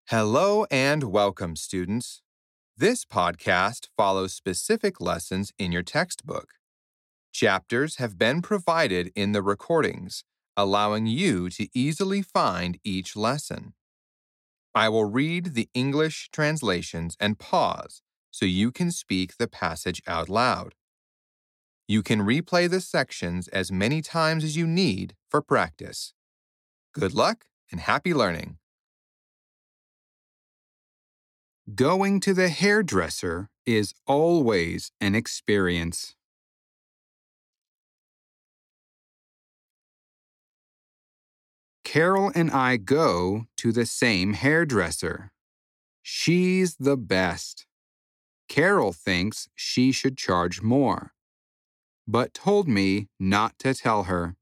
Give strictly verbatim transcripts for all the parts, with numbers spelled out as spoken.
Hello and welcome, students. This podcast follows specific lessons in your textbook. Chapters have been provided in the recordings, allowing you to easily find each lesson. I will read the English translations and pause so you can speak the passage out loud. You can replay the sections as many times as you need for practice. Good luck and happy learning. Going to the hairdresser is always an experience. Carol and I go to the same hairdresser. She's the best. Carol thinks she should charge more, but told me not to tell her.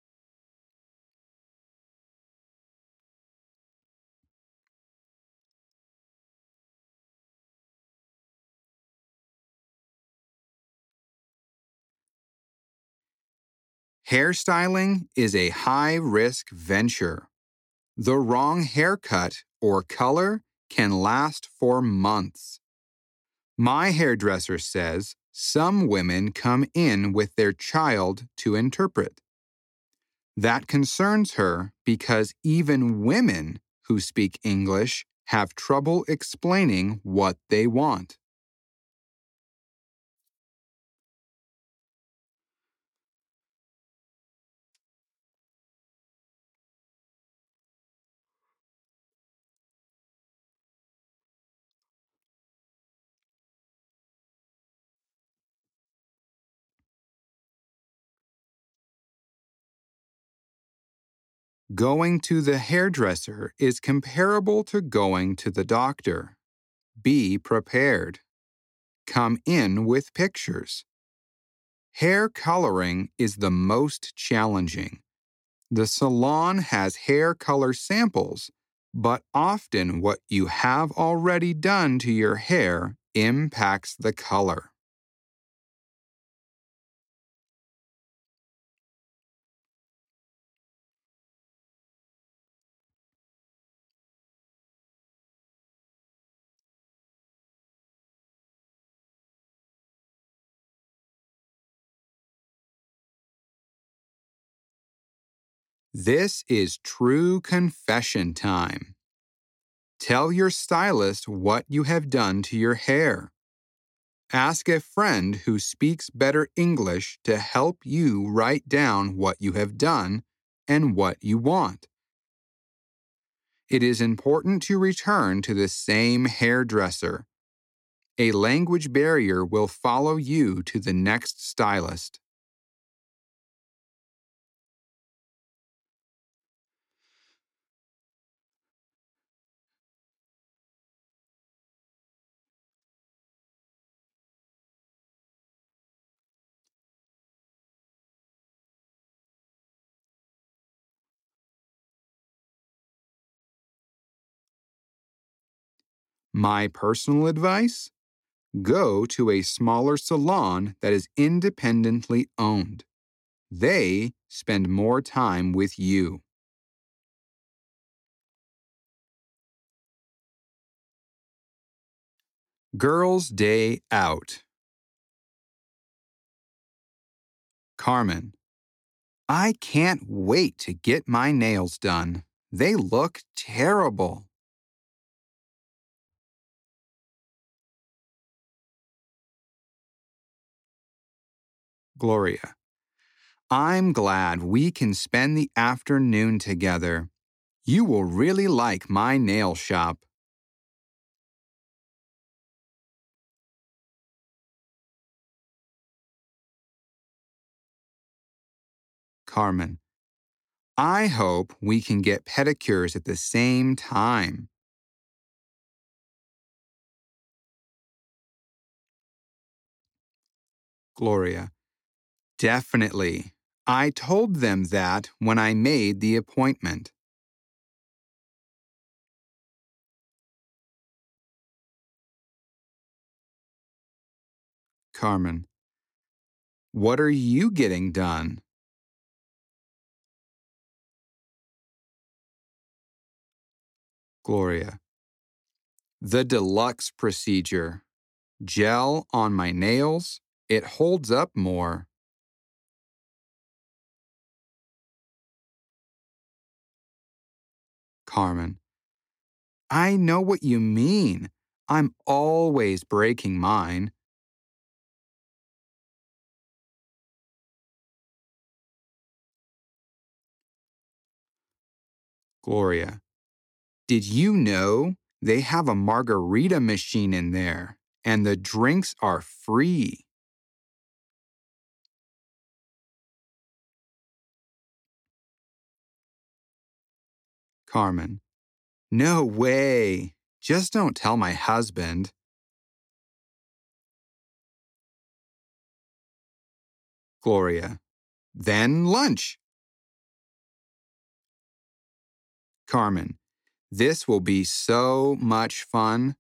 Hairstyling is a high-risk venture. The wrong haircut or color can last for months. My hairdresser says some women come in with their child to interpret. That concerns her because even women who speak English have trouble explaining what they want. Going to the hairdresser is comparable to going to the doctor. Be prepared. Come in with pictures. Hair coloring is the most challenging. The salon has hair color samples, but often what you have already done to your hair impacts the color. This is true confession time. Tell your stylist what you have done to your hair. Ask a friend who speaks better English to help you write down what you have done and what you want. It is important to return to the same hairdresser. A language barrier will follow you to the next stylist. My personal advice? Go to a smaller salon that is independently owned. They spend more time with you. Girls' Day Out. Carmen. I can't wait to get my nails done. They look terrible. Gloria. I'm glad we can spend the afternoon together. You will really like my nail shop. Carmen. I hope we can get pedicures at the same time. Gloria. Definitely. I told them that when I made the appointment. Carmen. What are you getting done? Gloria. The deluxe procedure. Gel on my nails. It holds up more. Carmen. I know what you mean. I'm always breaking mine. Gloria. Did you know they have a margarita machine in there and the drinks are free? Carmen. No way. Just don't tell my husband. Gloria. Then lunch. Carmen. This will be so much fun.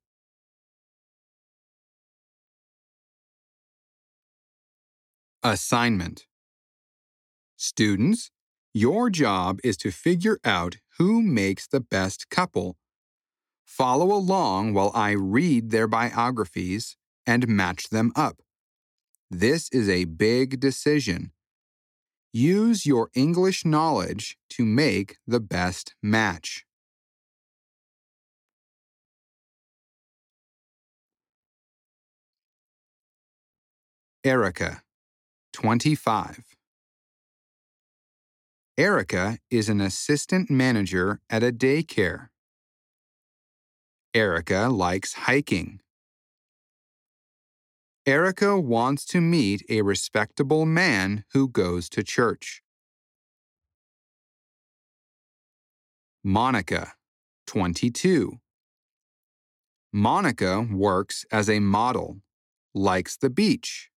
Assignment. Students, your job is to figure out who makes the best couple. Follow along while I read their biographies and match them up. This is a big decision. Use your English knowledge to make the best match. Erica, twenty-five. Erica is an assistant manager at a daycare. Erica likes hiking. Erica wants to meet a respectable man who goes to church. Monica, twenty-two. Monica works as a model, likes the beach.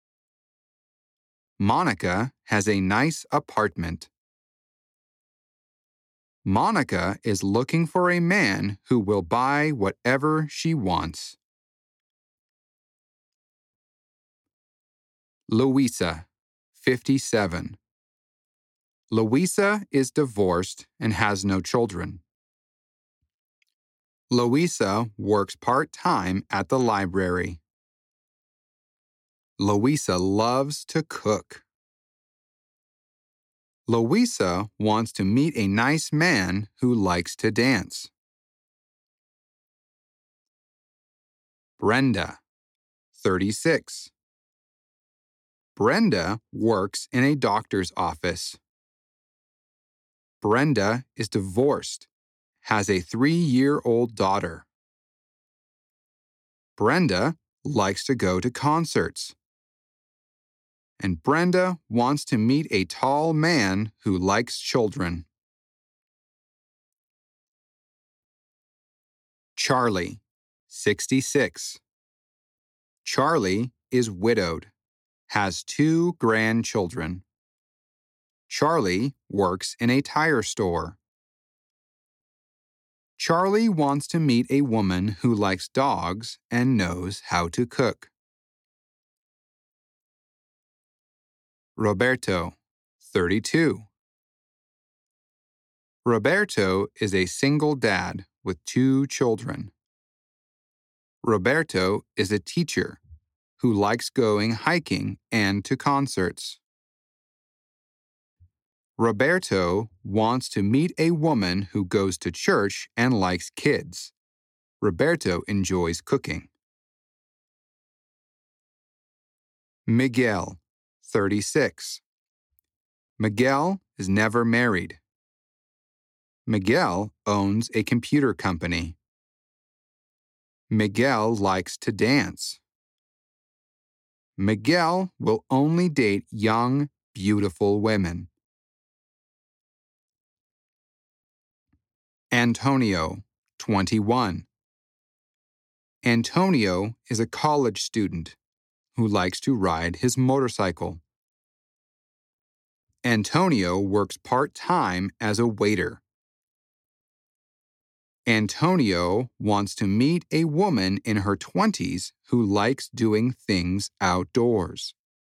Monica has a nice apartment. Monica is looking for a man who will buy whatever she wants. Louisa, fifty-seven. Louisa is divorced and has no children. Louisa works part-time at the library. Louisa loves to cook. Louisa wants to meet a nice man who likes to dance. Brenda, thirty-six. Brenda works in a doctor's office. Brenda is divorced, has a three-year-old daughter. Brenda likes to go to concerts. And Brenda wants to meet a tall man who likes children. Charlie, sixty-six. Charlie is widowed, has two grandchildren. Charlie works in a tire store. Charlie wants to meet a woman who likes dogs and knows how to cook. Roberto, thirty-two. Roberto is a single dad with two children. Roberto is a teacher who likes going hiking and to concerts. Roberto wants to meet a woman who goes to church and likes kids. Roberto enjoys cooking. Miguel, thirty-six. Miguel is never married. Miguel owns a computer company. Miguel likes to dance. Miguel will only date young, beautiful women. Antonio, twenty-one. Antonio is a college student who likes to ride his motorcycle. Antonio works part-time as a waiter. Antonio wants to meet a woman in her twenties who likes doing things outdoors.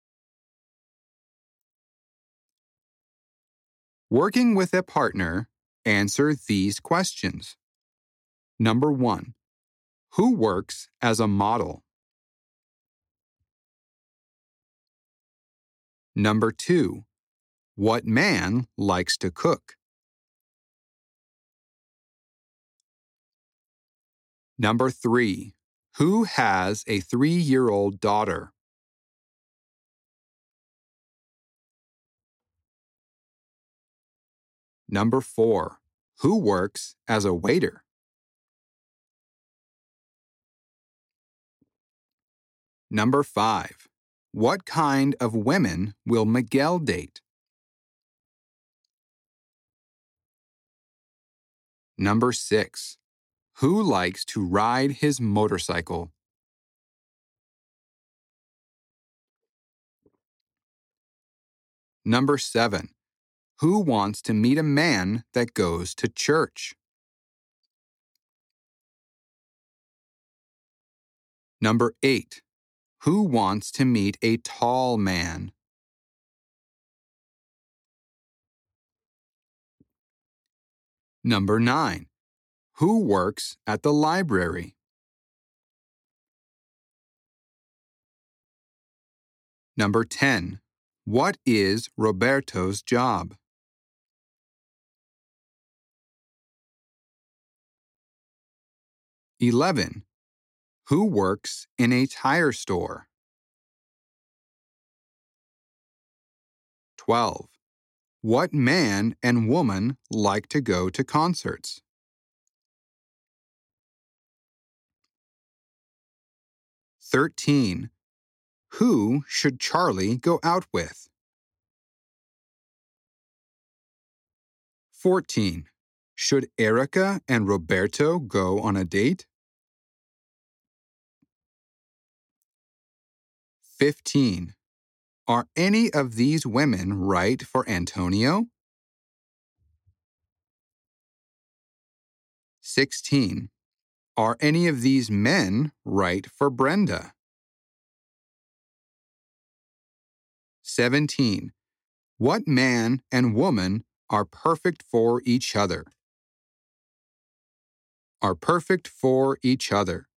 Working with a partner, answer these questions. Number one, Who works as a model? Number two. What man likes to cook? Number three. Who has a three-year-old daughter? Number four. Who works as a waiter? Number five. What kind of women will Miguel date? Number six. Who likes to ride his motorcycle? Number seven. Who wants to meet a man that goes to church? Number eight. Who wants to meet a tall man? Number nine. Who works at the library? Number ten. What is Roberto's job? eleven. Who works in a tire store? twelve. What man and woman like to go to concerts? thirteen. Who should Charlie go out with? fourteen. Should Erica and Roberto go on a date? fifteen. Are any of these women right for Antonio? sixteen. Are any of these men right for Brenda? seventeen. What man and woman are perfect for each other? Are perfect for each other.